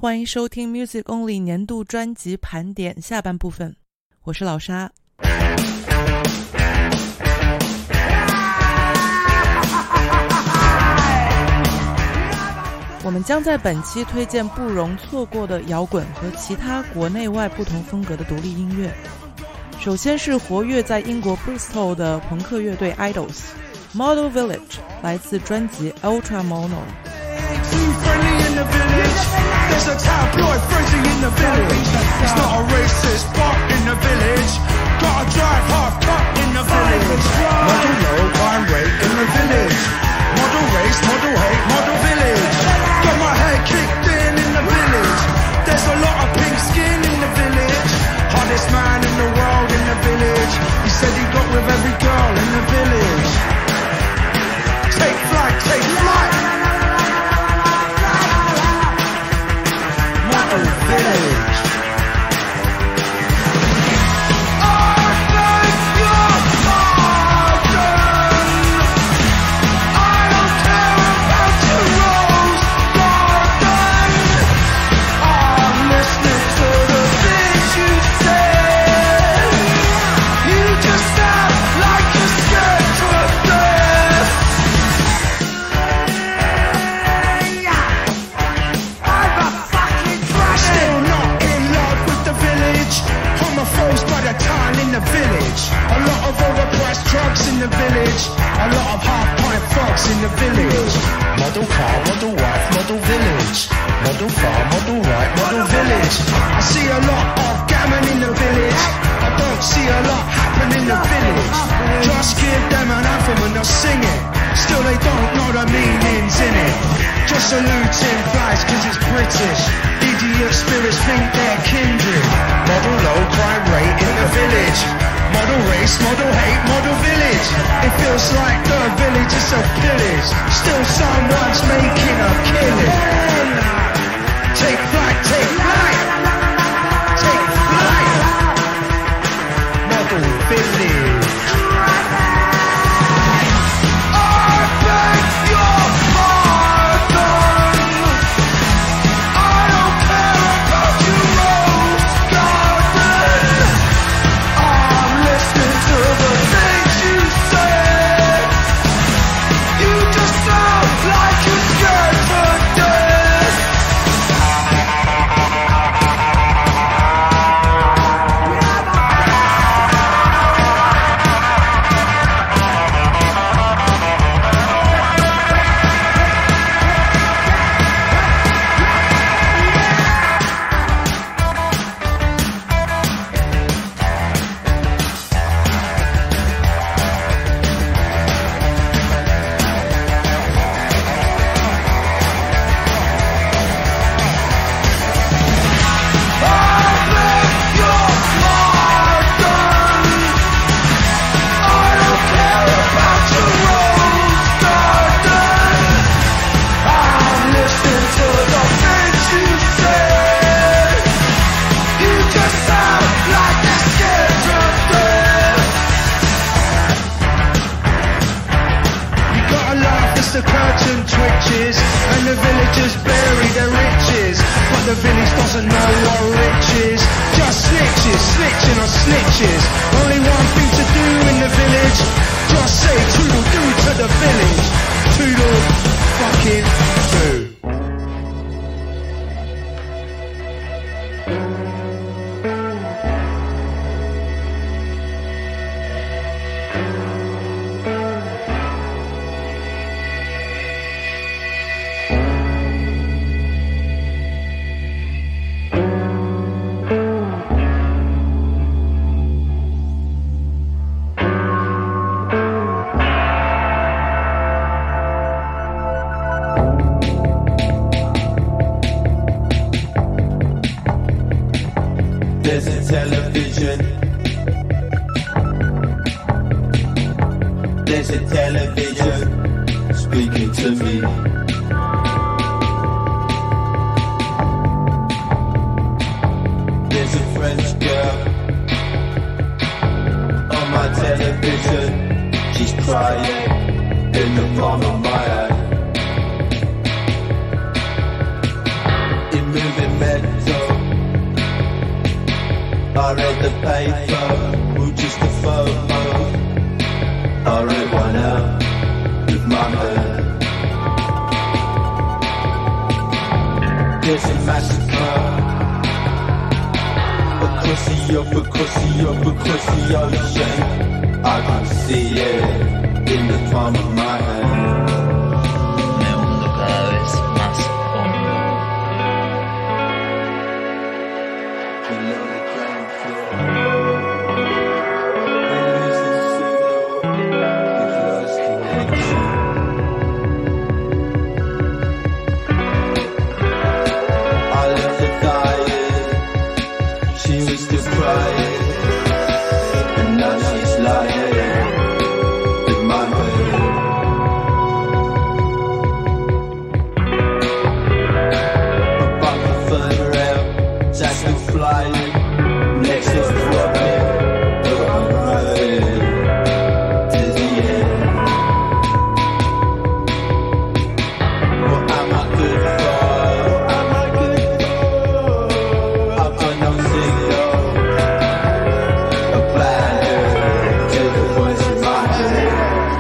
欢迎收听 Music Only 年度专辑盘点下半部分，我是老沙。我们将在本期推荐不容错过的摇滚和其他国内外不同风格的独立音乐。首先是活跃在英国 Bristol 的朋克乐队 Idols。Model Village 来自专辑 Ultra Mono。There's a tabloid frenzy in the village. It's not a racist but in the village. Gotta drive hard cut in the village. Model low, crime rate in the village. Model race, model hate, model village. Got my head kicked in the village. There's a lot of pink skin in the village. Hardest man in the world in the village. He said he got with every girl in the village. Take flight, take in the palm of my hand. It moving I read the paper, or just a photo. I read one out with my head. There's a massacre across the ocean. I can see it in the palm of my hand. Me hundo cada vez más hondo. Below the ground floor, we lose the signal, we've lost connection. I left her dying, she was still crying, and now she's lying in my bed. A bucket further out, Jack's still flying, next is dropping, but I'm running to the end. What am I good for? What am I good for? I've got no signal, a plan to the voice in my head.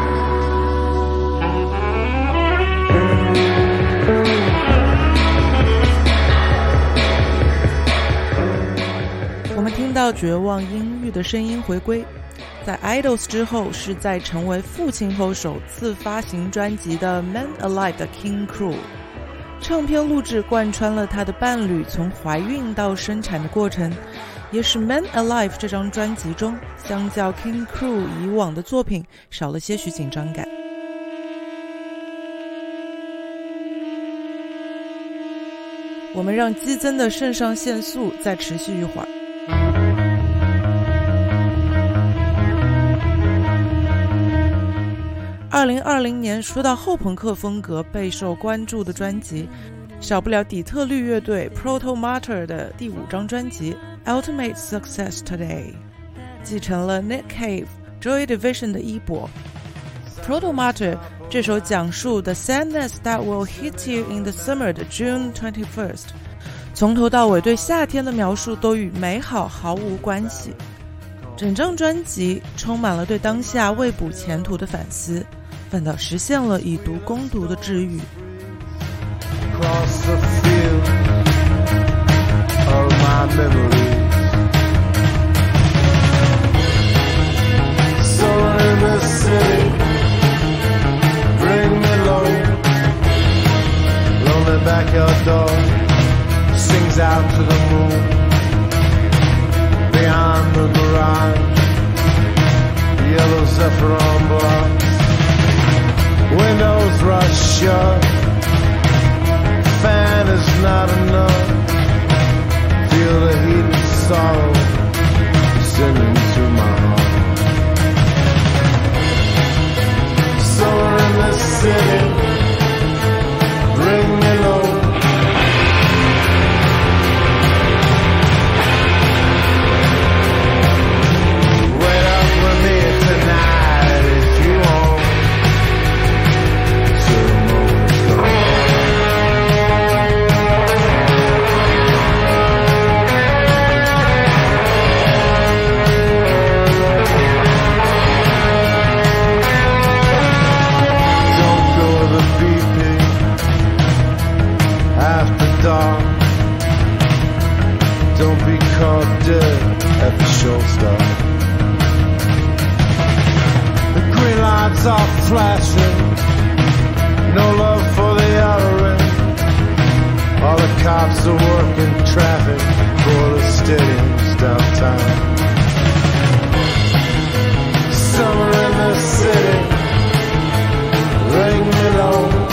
我们听到绝望阴郁的声音回归，在 Idols 之后是在成为父亲后首次发行专辑的 Man Alive 的 King Kroo。 唱片录制贯穿了他的伴侣从怀孕到生产的过程，也使 Man Alive 这张专辑中相较 King Kroo 以往的作品少了些许紧张感。我们让激增的肾上腺素再持续一会儿。2020年说到后朋克风格备受关注的专辑，少不了底特律乐队 Proto Martyr 的第5张专辑 Ultimate Success Today， 继承了 Nick Cave、Joy Division 的衣钵。Proto Martyr 这首讲述 The sadness that will hit you in the summer 的 June 21st， 从头到尾对夏天的描述都与美好毫无关系。整张专辑充满了对当下未卜前途的反思，反倒实现了以毒攻毒的治愈。 Across the field of my memories, so in the city, bring me low. Lonely backyard dog sings out to the moon. Beyond the mirage, yellow saffron blocks, windows rush shut. Fan is not enough. Feel the heat and sorrow sending to my heart. Somewhere in the city, bring me low. Wait up with me tonight if you want. Till the moment's gone. Dark. Don't be caught dead at the show stop. The green lights are flashing, no love for the outer ring. All the cops are working traffic for the stadiums downtown. Summer in the city, ring me low.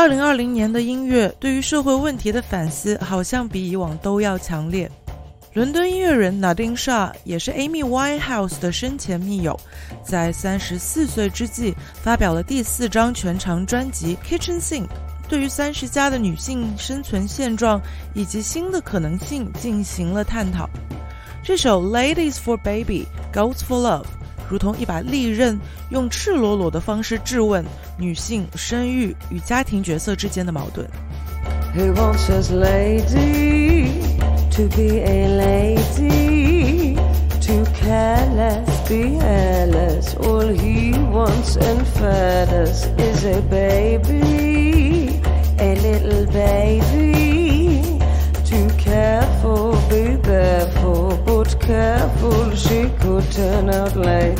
2020年的音乐对于社会问题的反思好像比以往都要强烈。伦敦音乐人 Nadine Shah 也是 Amy Winehouse 的生前密友，在34岁之际发表了第4张全长专辑 Kitchen Sink， 对于30加的女性生存现状以及新的可能性进行了探讨。这首 Ladies for Baby Goats for Love 如同一把利刃，用赤裸裸的方式质问女性生育与家庭角色之间的矛盾。 Who wants his lady to be a lady, to care less, be hairless? All he wants in fairness is a baby, a little baby, to care for, be there for, but careful she could turn out late.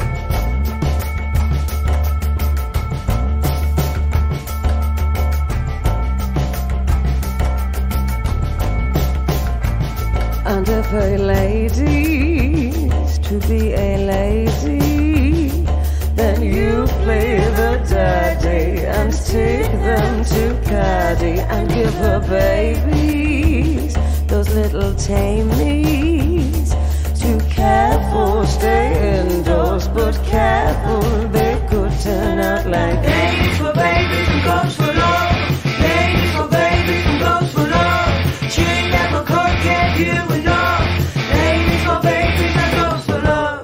And if a lady's to be a lady, then you play the daddy and take them to Caddy and give her babies, those little tamies, to care for, stay indoors, but careful they could turn out like ladies for babies and goats for love. Ladies for babies and goats for love. She never could get you enough. Ladies for babies and goats for love.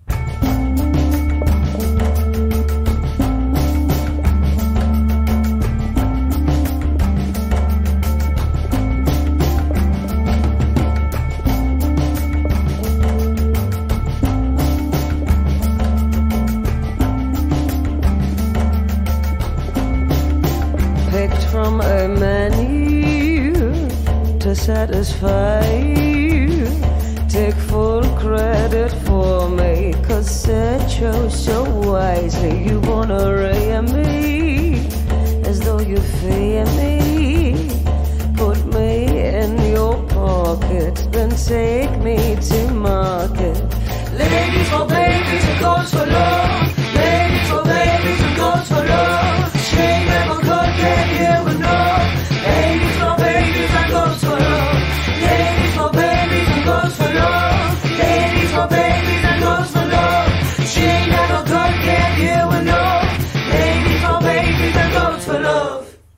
Picked from a menu to satisfy you. Take full credit for me, 'cause Sir chose so wisely. You wanna rear me as though you fear me. Put me in your pocket, then take me to market. Ladies for babies and goats for love. Ladies for babies and goats for love. She never could get you enough. Ladies for babies and goats for love. Ladies for babies and goats for love. Ladies for babies and goats for love. She never could get you enough. Ladies for babies and goats for love.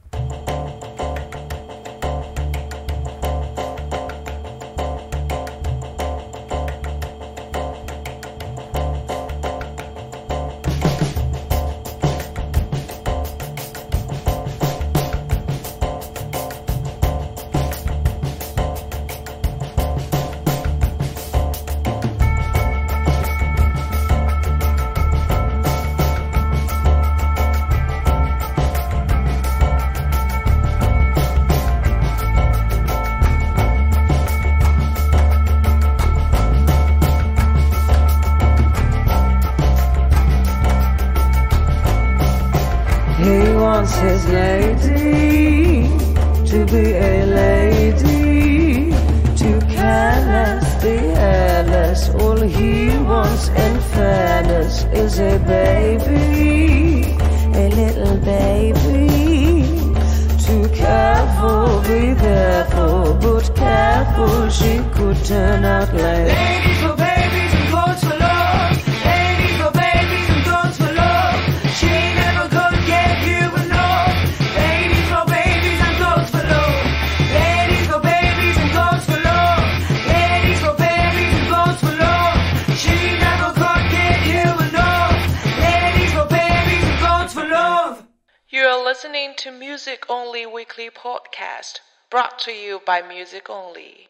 His lady to be a lady, to care less, be hairless. All he wants in fairness is a baby, a little baby, to care for, be there for, but careful she could turn out late. Ladies for babies and goats for love. Ladies for babies and goats for love. She never could get you enough. Ladies for babies and goats for love. Ladies for babies and goats for love. Ladies for babies and goats for love. She never could get you enough. Ladies for babies and goats for love. You are listening to Music Only Weekly Podcast, brought to you by Music Only.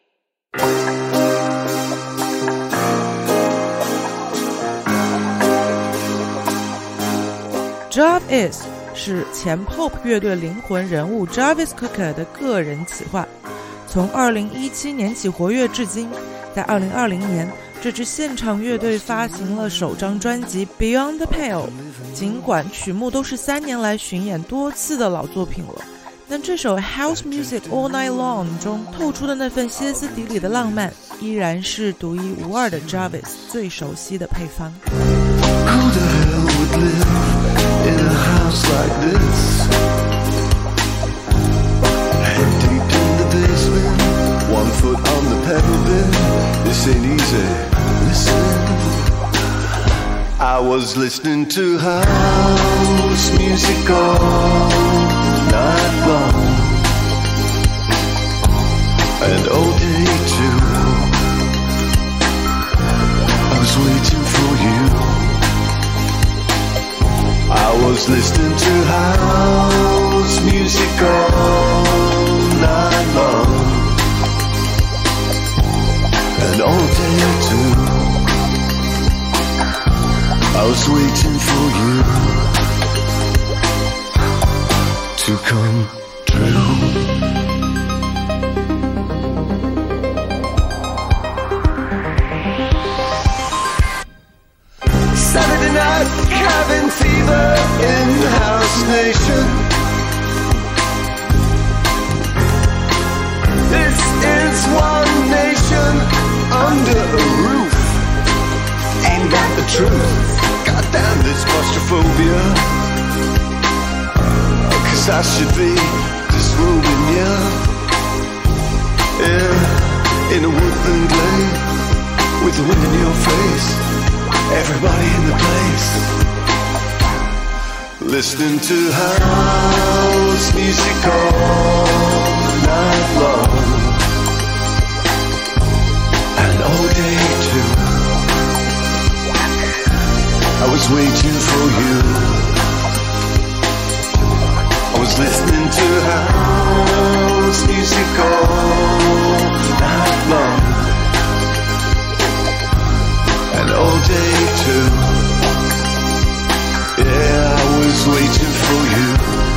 Jarvis 是前 Pop 乐队灵魂人物 Jarvis Cocker 的个人企划，从2017年起活跃至今。在2020年，这支现场乐队发行了首张专辑 Beyond the Pale， 尽管曲目都是3年来巡演多次的老作品了，但这首 House Music All Night Long 中透出的那份歇斯底里的浪漫，依然是独一无二的 Jarvis 最熟悉的配方。 Who the hell would live in a house like this? say, listen. I was listening to house music all night long, and all day too. I was waiting for you. I was listening to house music all night long, and all day too. I was waiting for you to come true. Saturday night, cabin fever in House Nation. This is one nation under a roof. Ain't got the truth. Goddamn this claustrophobia. 'Cause I should be disrobing ya. Yeah, in a woodland glade with the wind in your face. Everybody in the place, listening to house music all night long, and all day too. I was waiting for you. I was listening to house music all night long, and all day too. Yeah, I was waiting for you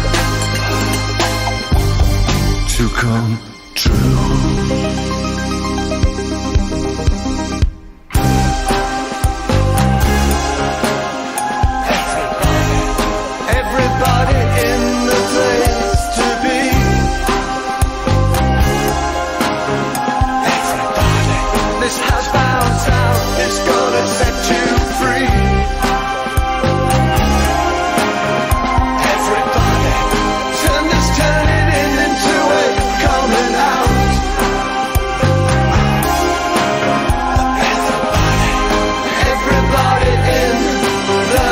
to come true. Everybody in the place to be. Everybody, this housebound sound is gonna set you free. Everybody, turn this turning in into a coming out. Everybody in the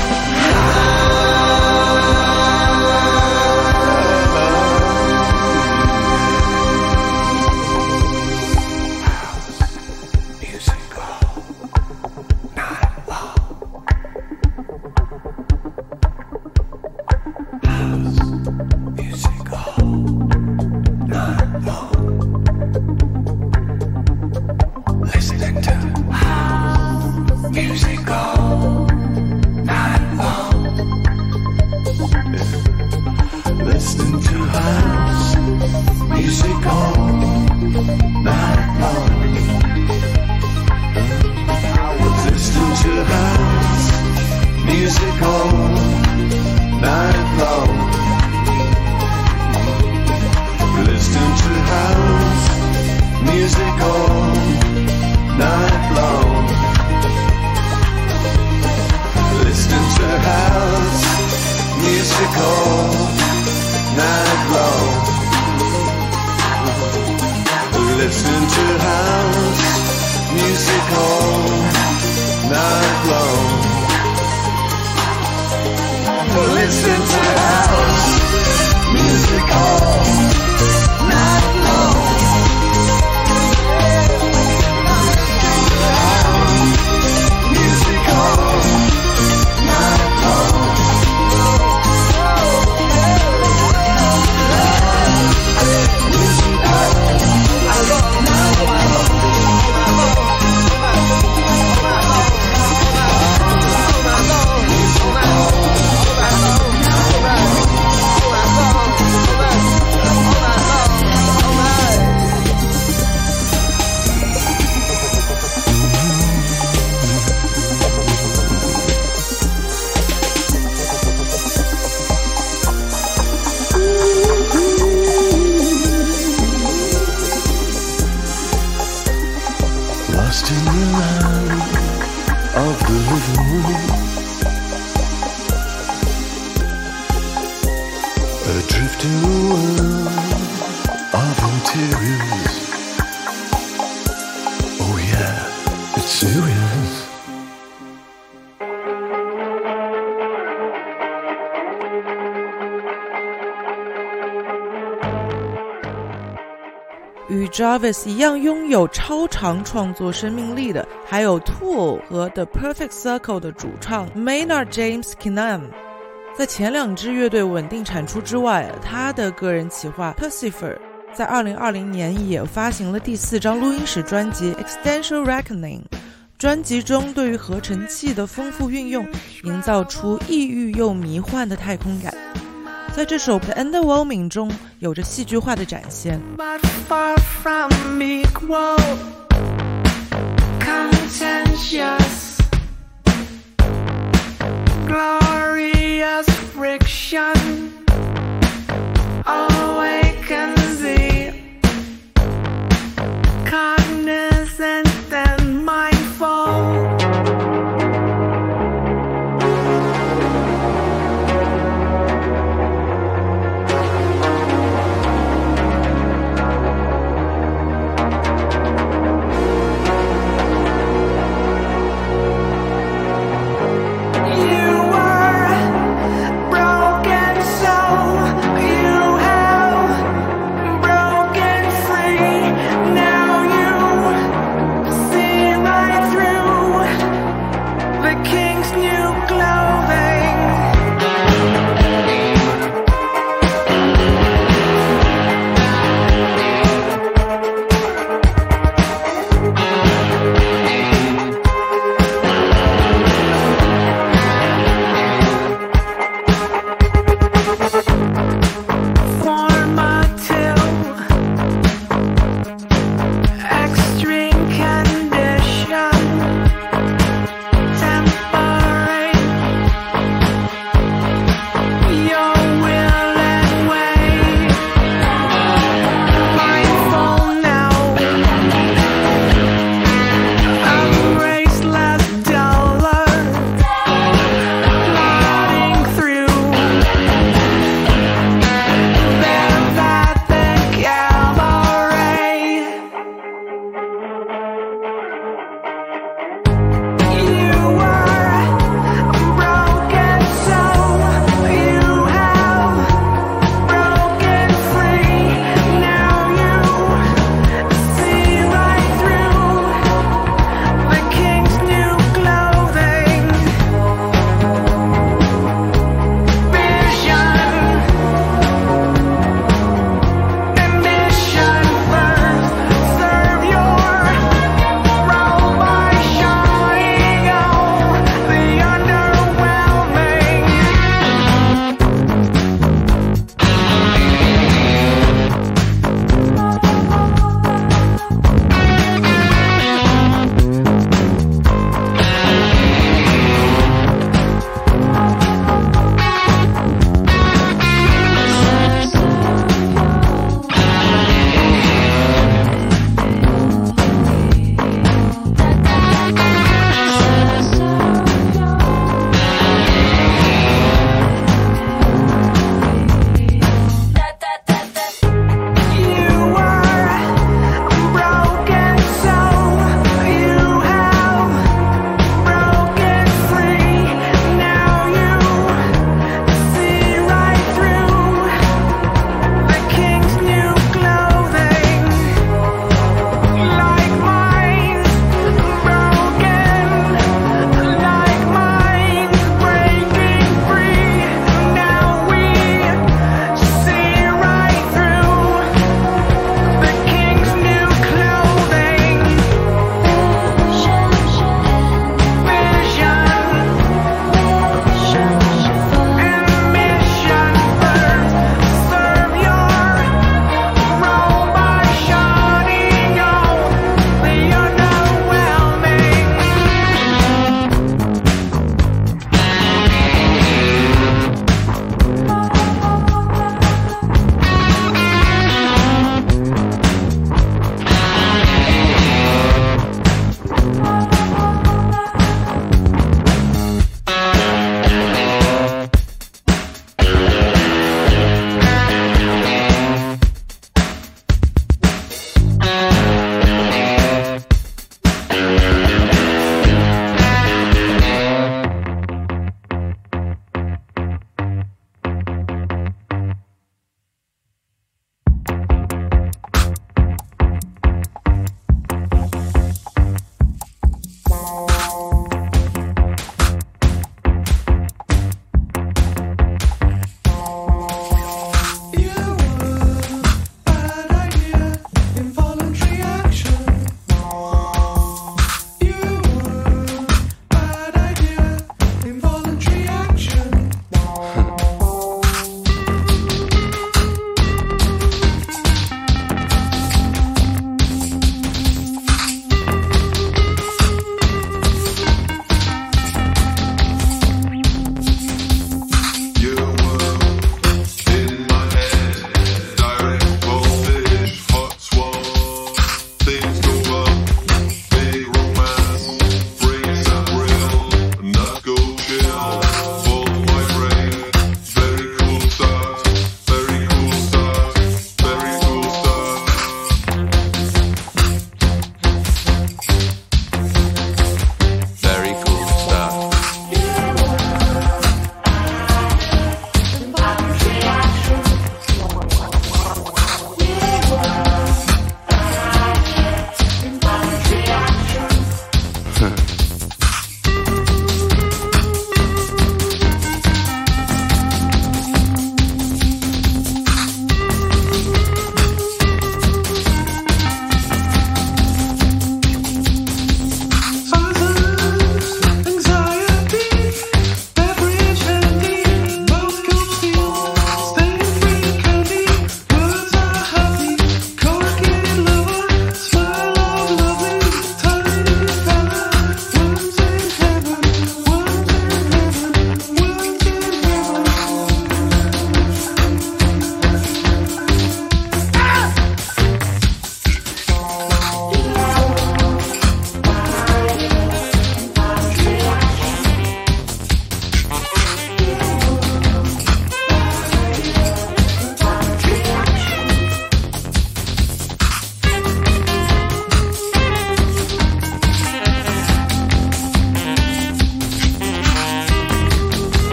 listening to house music all night long. Listening to house music all night long. Listening to house music all night long. Listening to house music all night long. Listen to house music all night long. Listen to house music all night long. Music all night long. Lost in the land of the living, adrift in a world of interiors. Oh yeah, serious? 与 Jarvis 一样拥有超长创作生命力的，还有 Tool 和 The Perfect Circle 的主唱 Maynard James Keenan。在前2支乐队稳定产出之外，他的个人企划 Percifer 在2020年也发行了第4张录音室专辑 Existential Reckoning。专辑中对于合成器的丰富运用，营造出抑郁又迷幻的太空感。在这首 The Underwhelming 中有着戏剧化的展现。 But far from equal, contentious, glorious friction awakens the cognizant and mindful. You are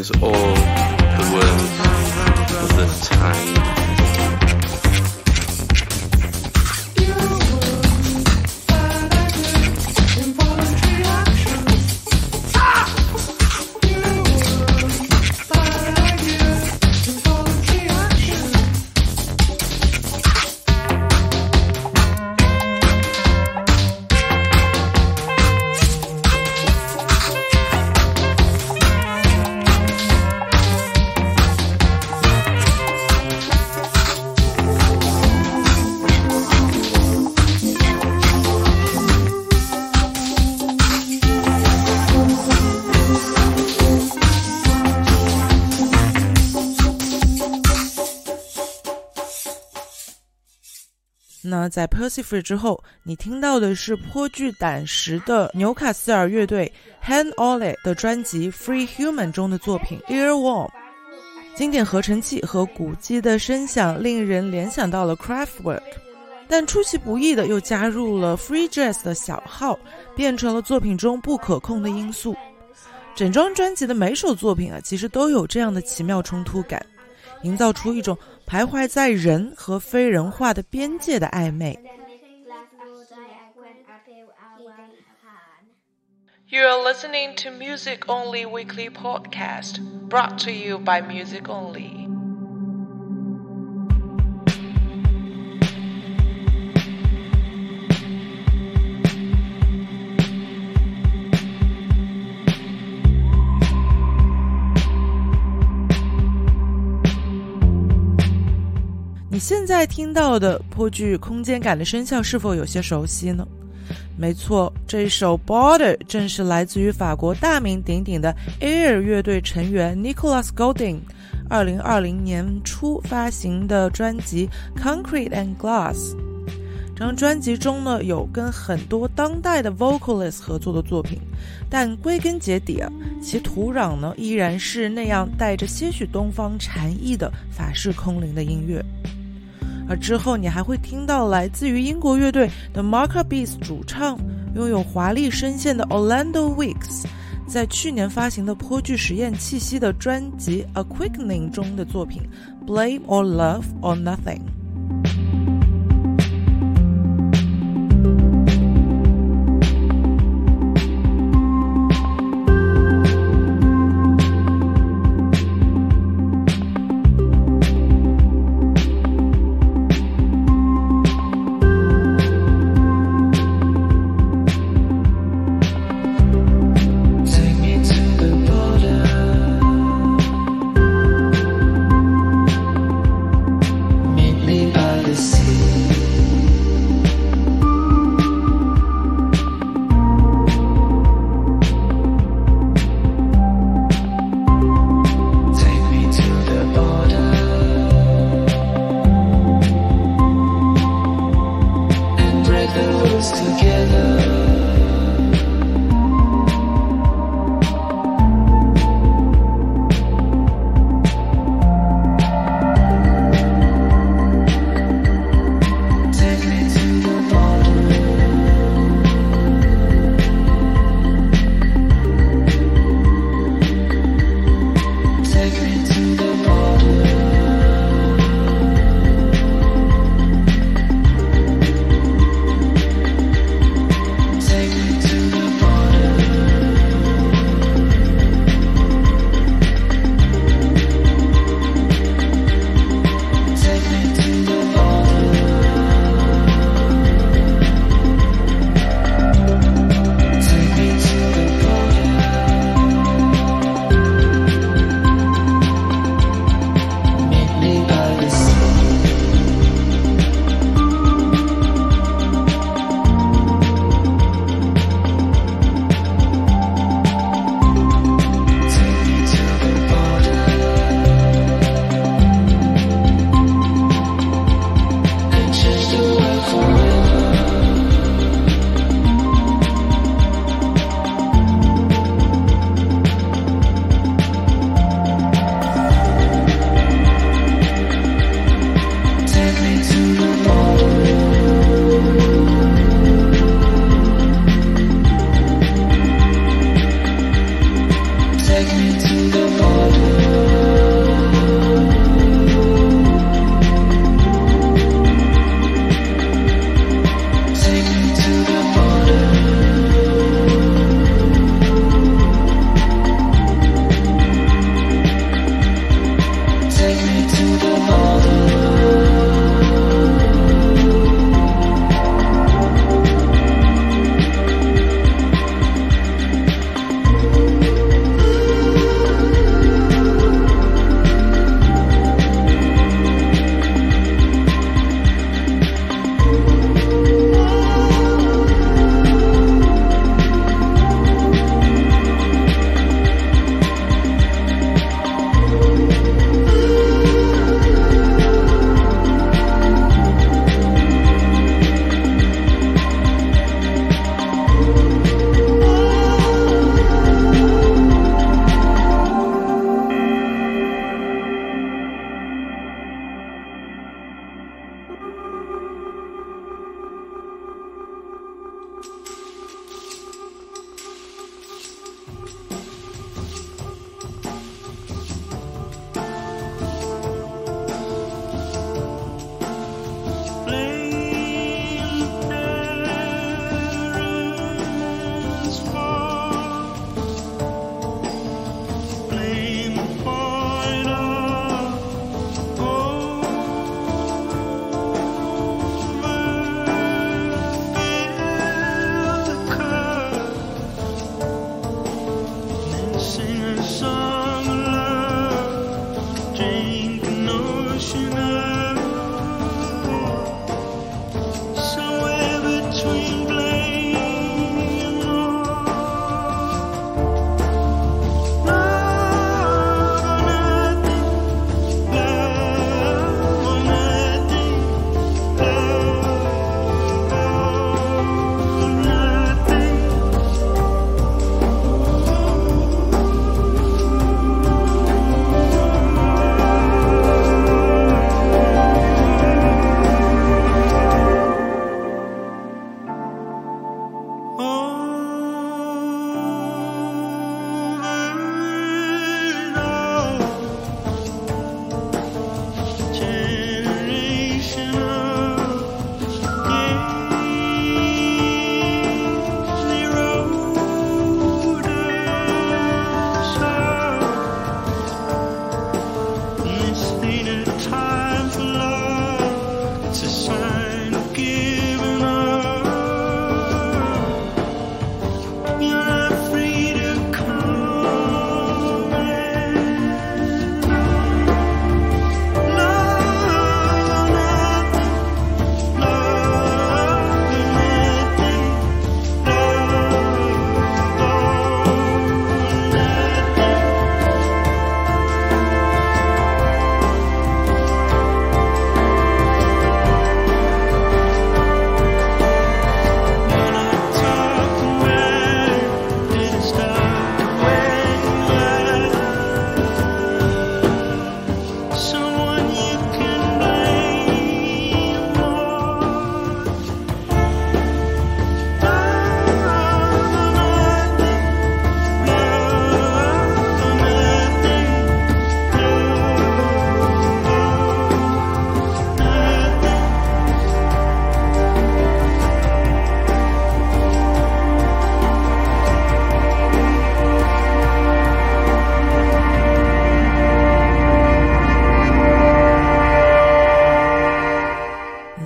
knows all the words of the time. 那在 Percy 之后，你听到的是颇具胆识的纽卡斯尔乐队 Han Ole 的专辑 Free Human 中的作品 Earworm。 经典合成器和鼓机的声响令人联想到了 Kraftwerk， 但出其不意的又加入了 Free Jazz 的小号，变成了作品中不可控的因素。整张专辑的每首作品其实都有这样的奇妙冲突感，营造出一种徘徊在人和非人化的边界的暧昧。 You are listening to Music Only Weekly Podcast, brought to you by Music Only. 「你现在听到的颇具空间感的声效是否有些熟悉呢？没错，这首 Border 正是来自于法国大名鼎鼎的 Air 乐队成员 Nicolas Godin 2020年初发行的专辑 Concrete and Glass。 这张专辑中呢，有跟很多当代的 vocalist 合作的作品，但归根结底其土壤呢依然是那样带着些许东方禅意的法式空灵的音乐。而之后你还会听到来自于英国乐队 The Maccabees 主唱，拥有华丽声线的 Orlando Weeks 在去年发行的颇具实验气息的专辑 A Quickening 中的作品 Blame or Love or Nothing。 Meet me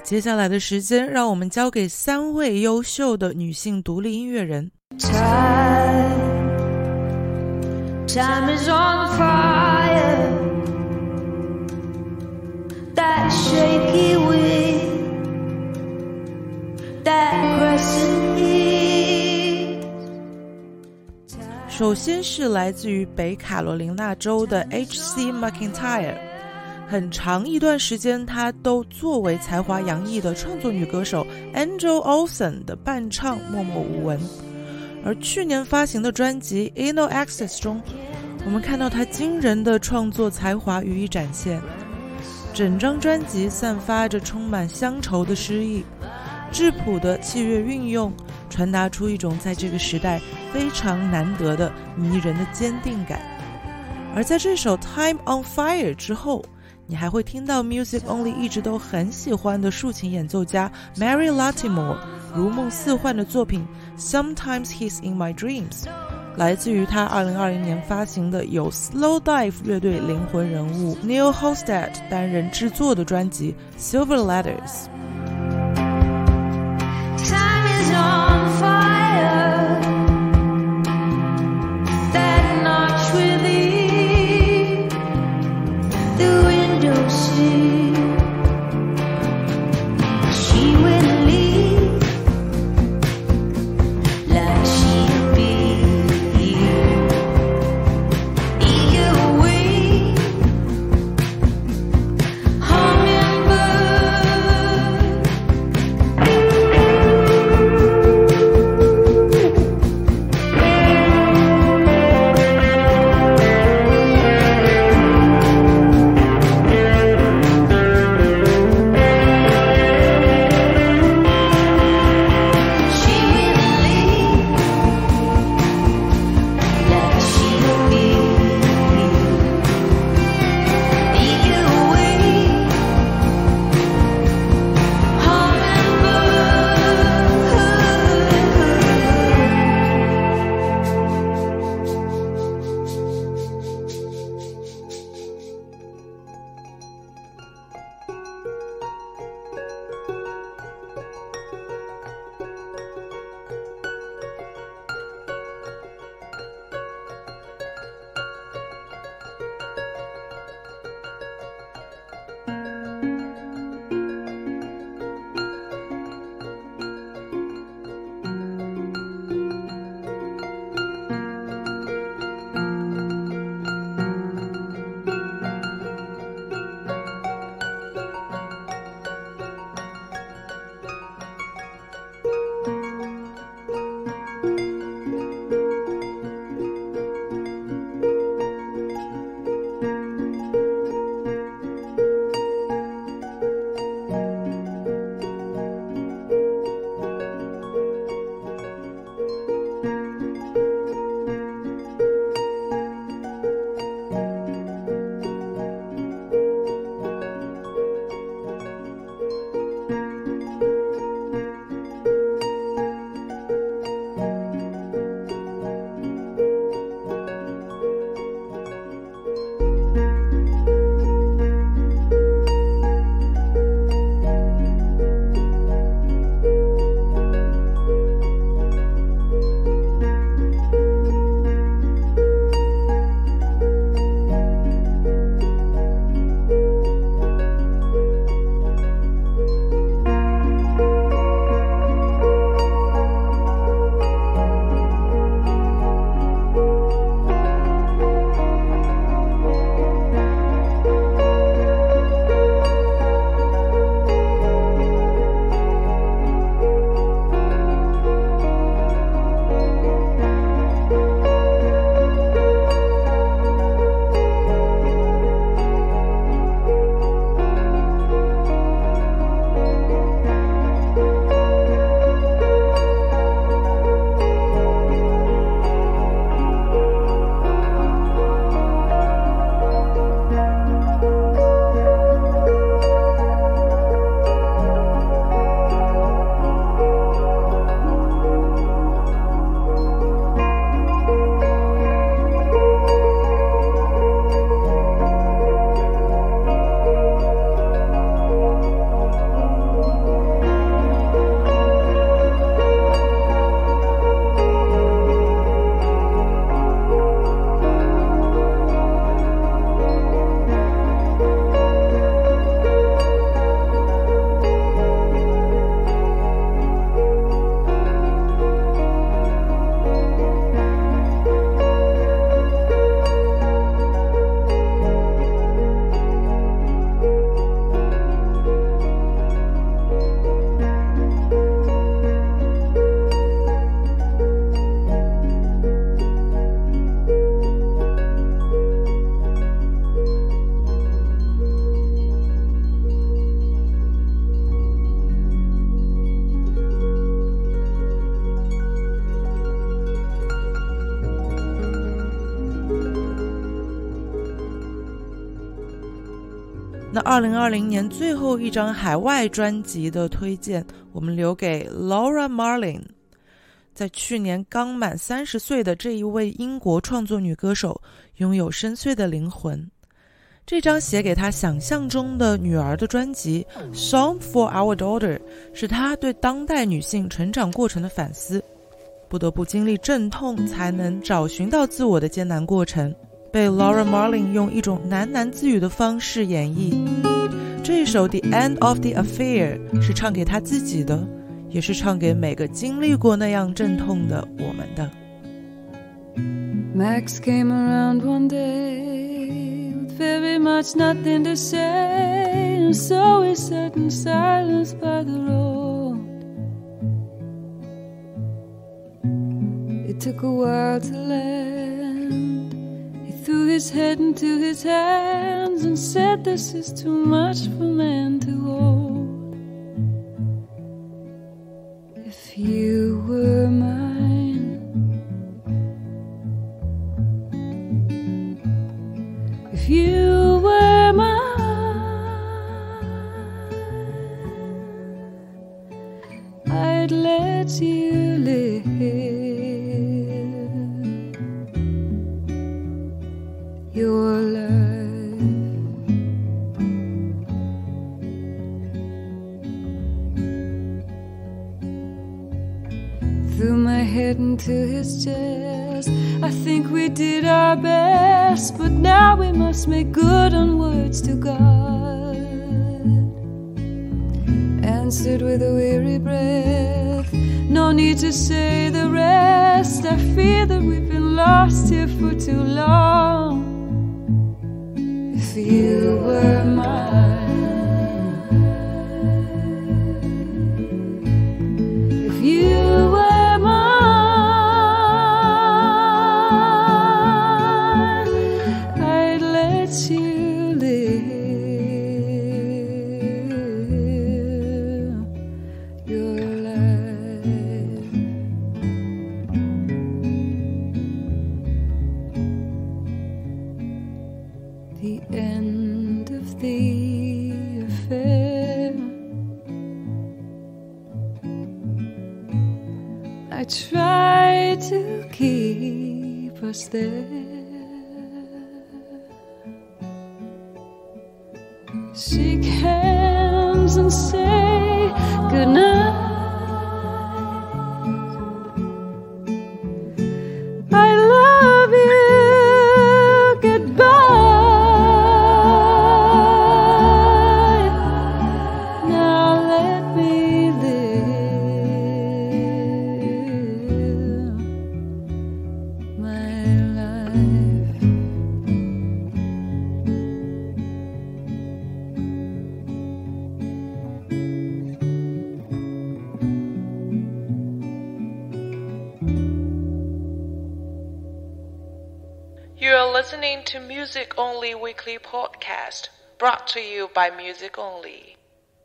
接下来的时间，让我们交给3位优秀的女性独立音乐人。 Time is on fire. That shaky wind, that crescent heat. 首先是来自于北卡罗琳纳州的 H.C. McIntyre。很长一段时间，她都作为才华洋溢的创作女歌手 Angel Olsen 的伴唱默默无闻。而去年发行的专辑 Inno Access 中，我们看到她惊人的创作才华予以展现。整张专辑散发着充满乡愁的诗意，质朴的器乐运用，传达出一种在这个时代非常难得的迷人的坚定感。而在这首 Time on Fire 之后，你还会听到 Music Only 一直都很喜欢的竖琴演奏家 Mary Latimore 如梦似幻的作品 Sometimes He's in My Dreams， 来自于他2020年发行的由 Slow Dive 乐队灵魂人物 Neil Hofstad 担任制作的专辑 Silver Letters。 Time is on fire. That notch within the window sill. She will leave like she'll be eager away, hummingbird. 那2020年最后一张海外专辑的推荐，我们留给 Laura Marling。在去年刚满30岁的这一位英国创作女歌手，拥有深邃的灵魂。这张写给她想象中的女儿的专辑 Song for Our Daughter 是她对当代女性成长过程的反思，不得不经历阵痛才能找寻到自我的艰难过程，被 Laura Marling 用一种喃喃自语的方式演绎。这一首 The End of the Affair 是唱给她自己的，也是唱给每个经历过那样阵痛的我们的。 Max came around one day with very much nothing to say, and so we sat in silence by the road. It took a while to land. He threw his head into his hands and said, "This is too much for man to hold. If you were mine, if you were mine, I'd let you live your life." Threw my head into his chest. I think we did our best, but now we must make good on words to God. Answered with a weary breath, no need to say the rest. I fear that we've been lost here for too long. If you were mine, if you were mine, I'd let you live your life. The end of the affair, I tried to keep us there. Shake hands and say goodnight. I love you, goodbye. Now let me live my life. You are listening to Music Only Weekly Podcast, brought to you by Music Only.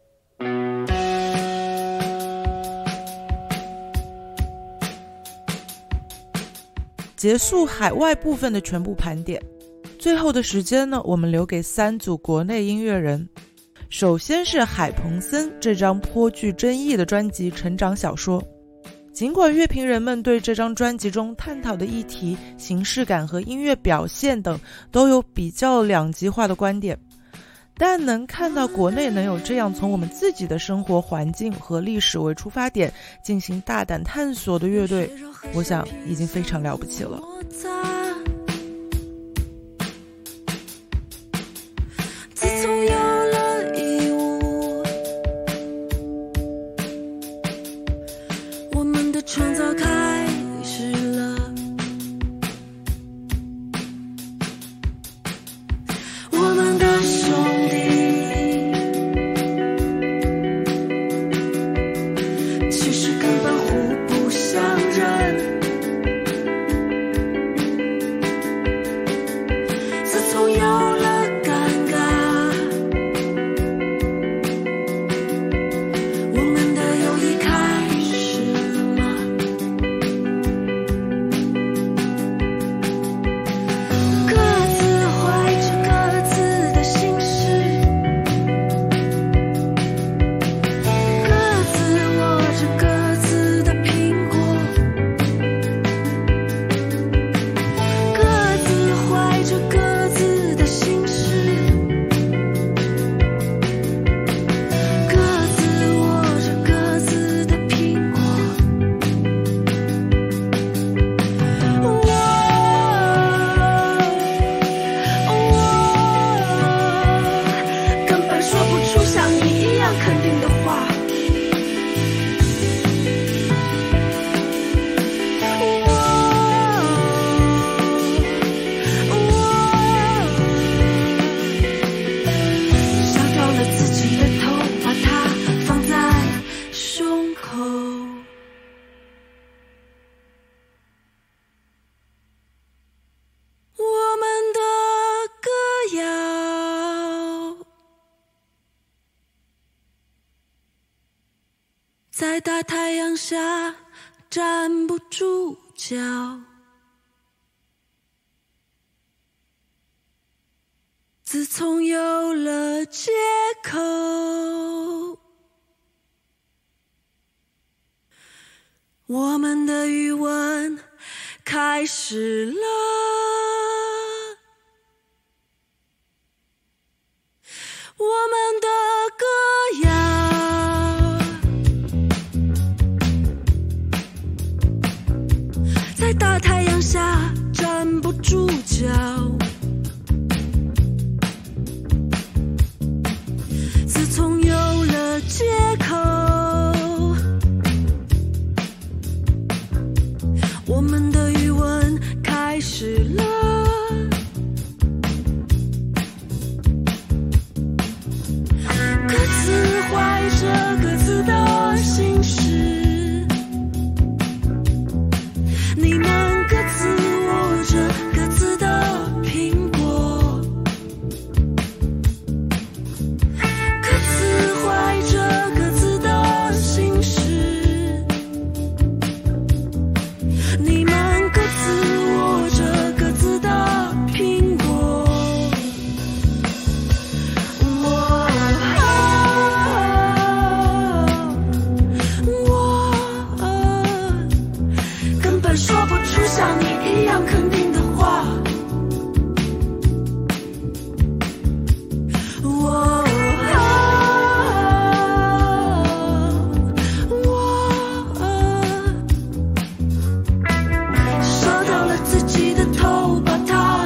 结束海外部分的全部盘点，最后的时间呢，我们留给3组国内音乐人。首先是海鹏森这张颇具争议的专辑《成长小说》。尽管乐评人们对这张专辑中探讨的议题、形式感和音乐表现等都有比较两极化的观点，但能看到国内能有这样从我们自己的生活环境和历史为出发点进行大胆探索的乐队，我想已经非常了不起了。 自从有了义务，我们的创造开始了。我们的兄弟其实根本互不相认。 在大太阳下站不住脚，自从有了借口，我们的余温开始了，我们的歌谣在大太阳下站不住脚，自从有了借口，我们的余温开始了，各自怀着各自的心事，你们各自握着各自的苹果，各自怀着各自的心事，你们各自握着各自的苹果。根本说不出像你一样肯定的话。烧掉了自己的头，把它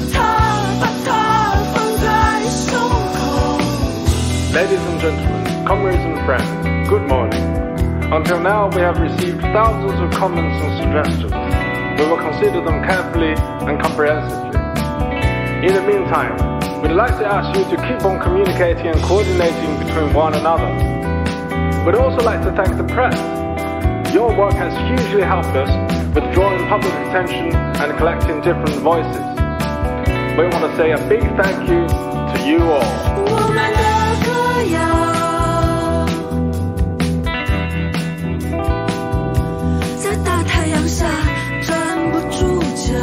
放在胸口。 Ladies and gentlemen, comrades and friends, good morning. Until now, we have received thousands of comments and suggestions. We will consider them carefully and comprehensively. In the meantime, we'd like to ask you to keep on communicating and coordinating between one another. We'd also like to thank the press. Your work has hugely helped us with drawing public attention and collecting different voices. We want to say a big thank you to you all. 我们的歌谣在大太阳下站不住脚，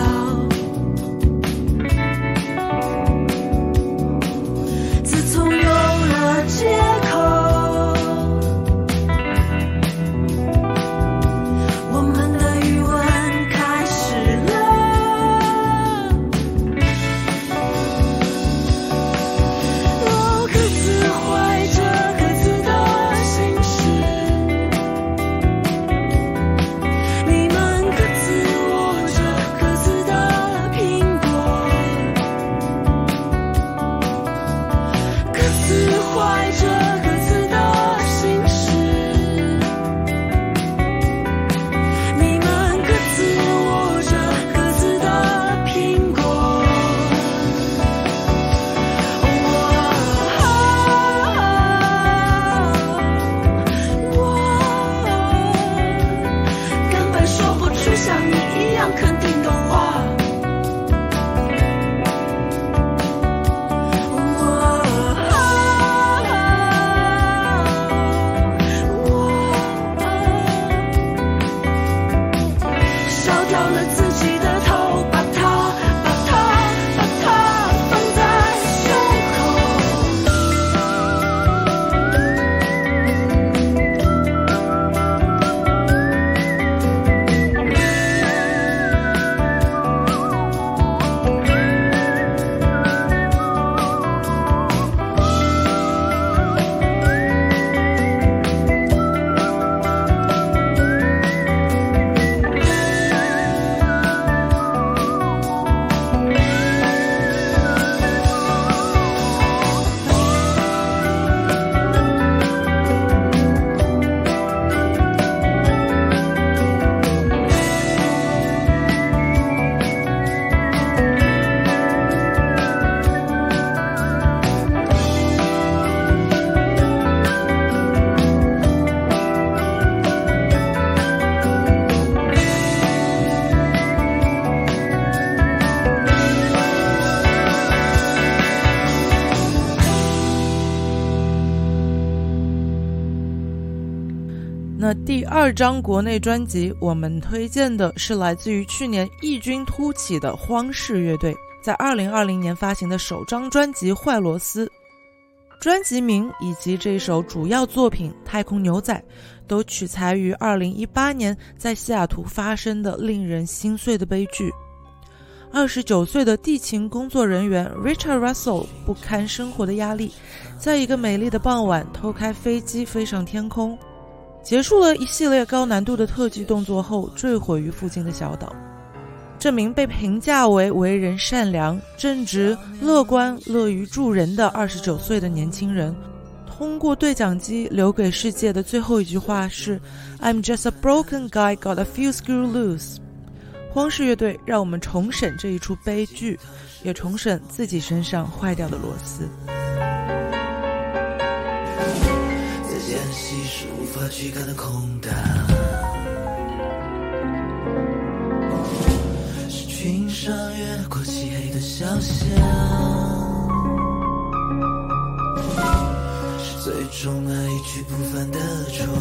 自从有了借口，我们的余温开始了，各自怀着各自的心事，你们各自握着各自的苹果，各自怀着各自的心事，你们各自握着各自的苹果。根本说不出像你一样肯定的话。烧掉了自己的头，把它放在胸口。 那第2张国内专辑，我们推荐的是来自于去年异军突起的荒氏乐队，在2020年发行的首张专辑《坏螺丝》。专辑名以及这首主要作品《太空牛仔》都取材于2018年在西雅图发生的令人心碎的悲剧。29岁的地勤工作人员 Richard Russell 不堪生活的压力，在一个美丽的傍晚偷开飞机飞上天空，结束了一系列高难度的特技动作后坠毁于附近的小岛。这名被评价为人善良、正直、乐观、乐于助人的29岁的年轻人，通过对讲机留给世界的最后一句话是 I'm just a broken guy, got a few screw loose。 荒氏乐队让我们重审这一出悲剧，也重审自己身上坏掉的螺丝。 在间隙是无法驱赶的空荡，是群山越过漆黑的小巷，是最终那一去不返的船。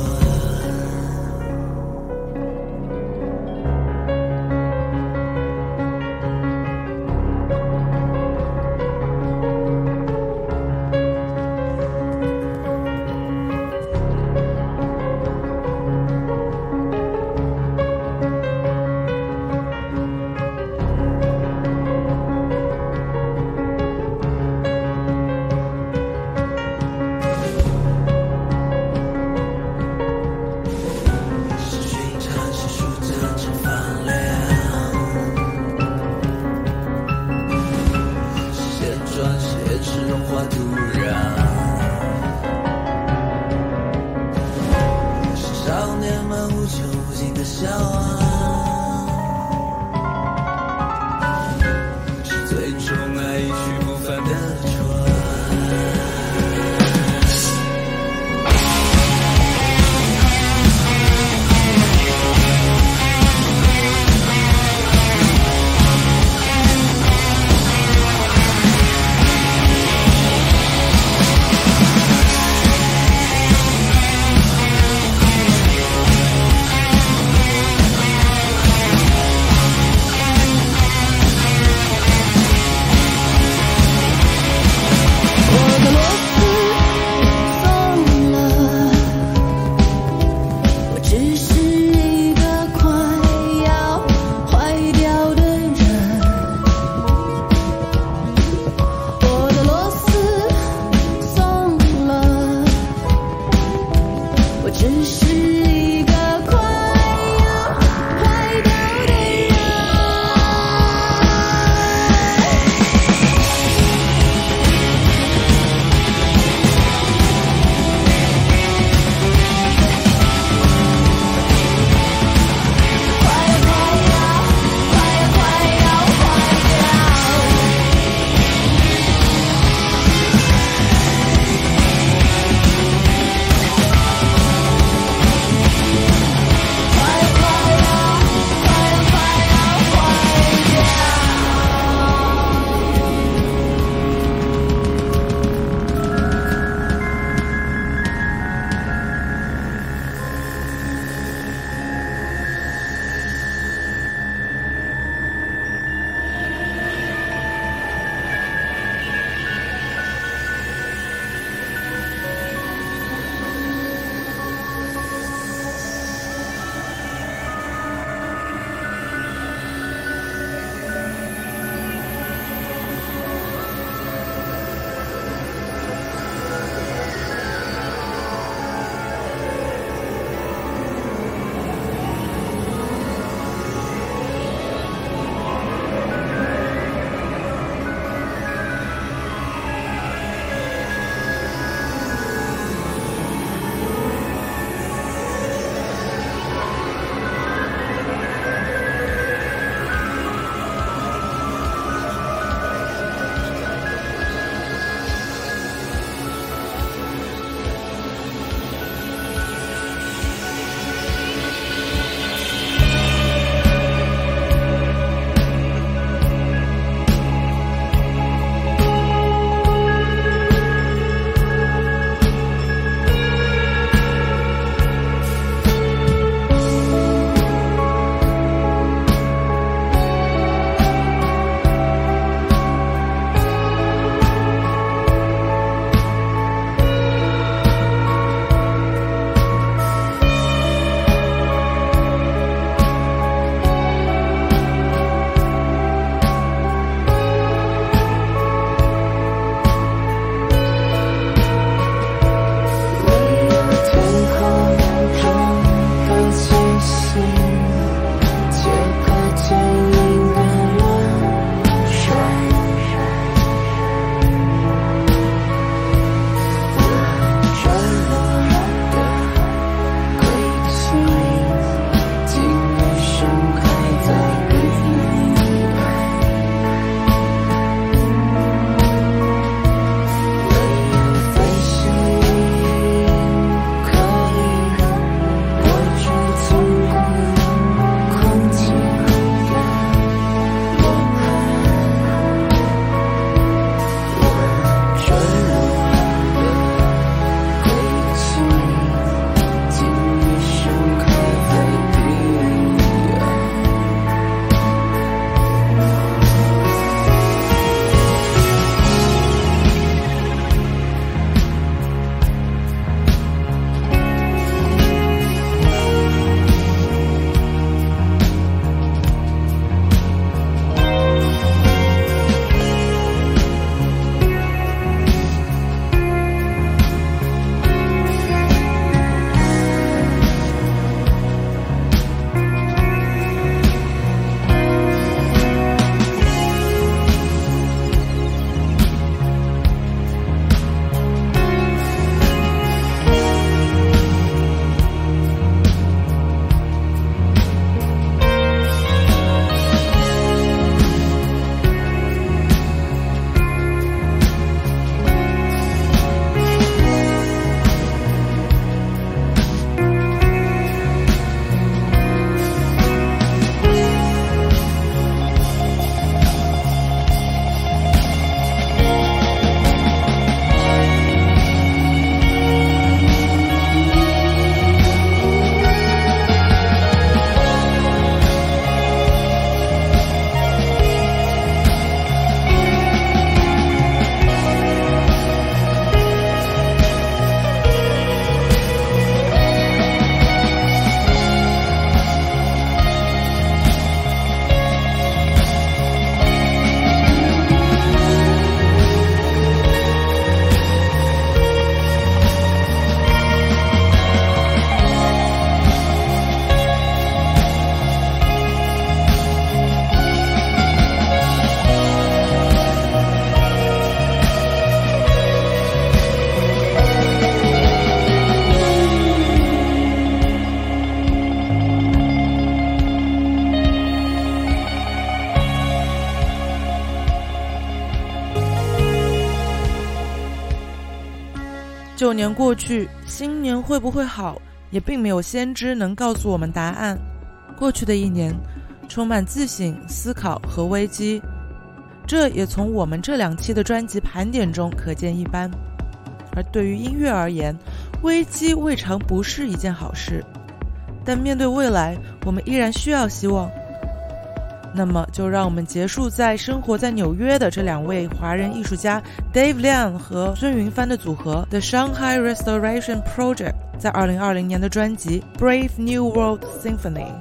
旧年过去，新年会不会好，也并没有先知能告诉我们答案。过去的一年充满自省、思考和危机，这也从我们这2期的专辑盘点中可见一斑。而对于音乐而言，危机未尝不是一件好事，但面对未来，我们依然需要希望。那么就让我们结束在生活在纽约的这2位华人艺术家 Dave Liang 和孙云帆的组合 The Shanghai Restoration Project 在2020年的专辑 Brave New World Symphony。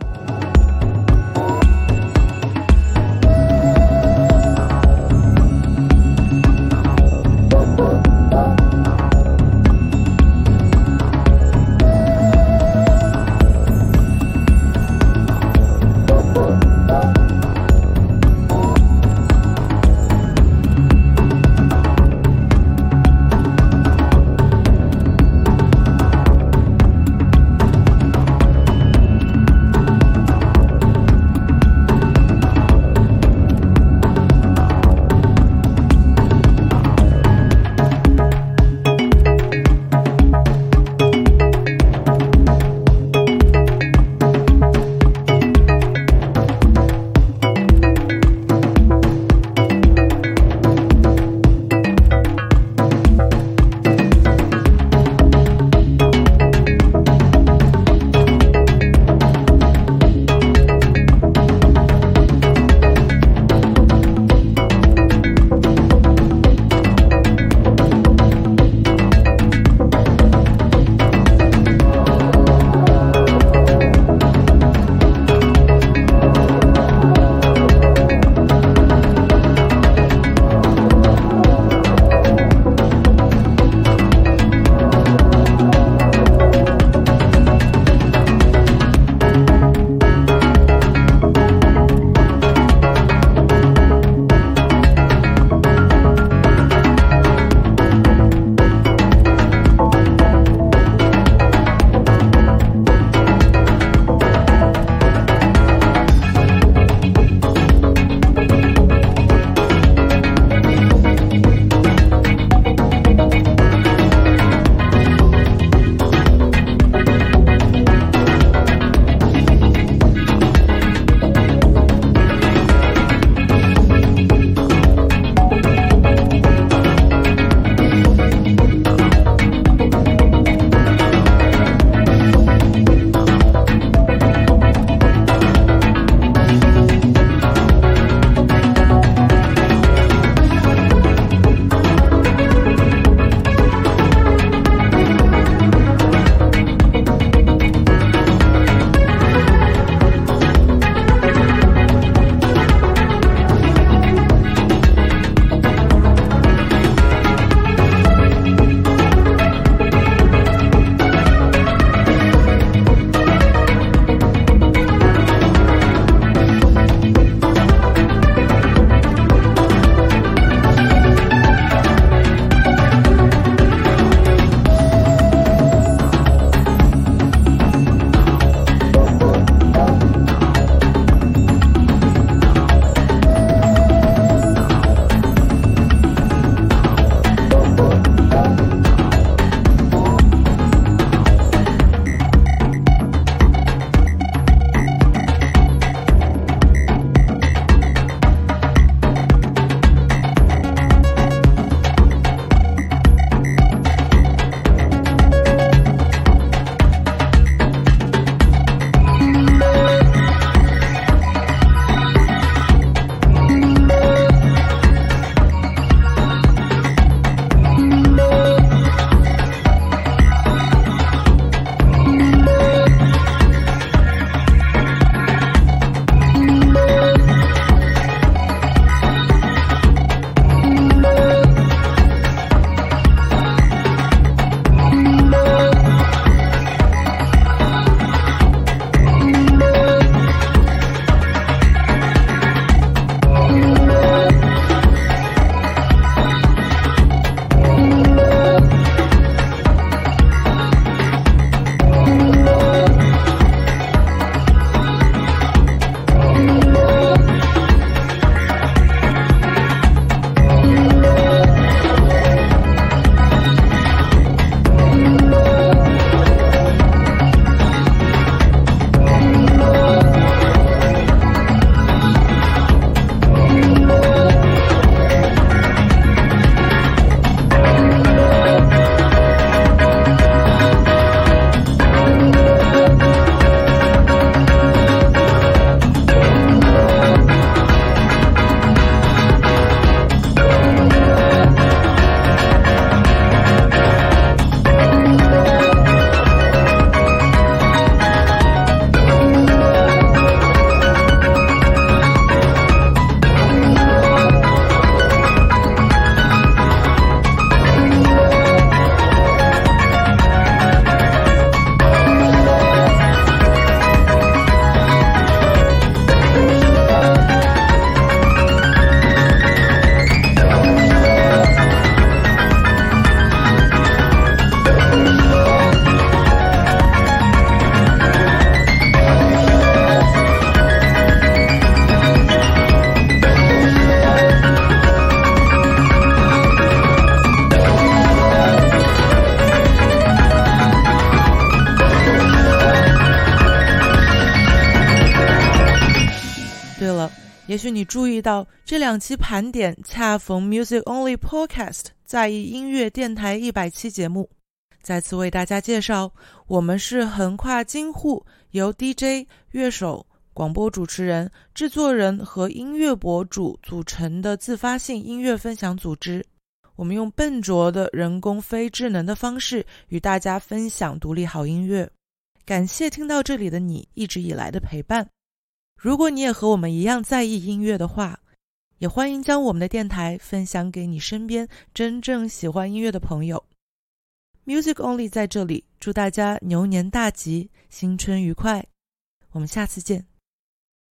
许你注意到这2期盘点恰逢 Music Only Podcast 在意音乐电台100期节目。再次为大家介绍，我们是横跨京沪，由 DJ、乐手、广播主持人、制作人和音乐博主组成的自发性音乐分享组织。我们用笨拙的人工非智能的方式与大家分享独立好音乐。感谢听到这里的你一直以来的陪伴。如果你也和我们一样在意音乐的话，也欢迎将我们的电台分享给你身边真正喜欢音乐的朋友。Music Only 在这里祝大家牛年大吉，新春愉快。我们下次见。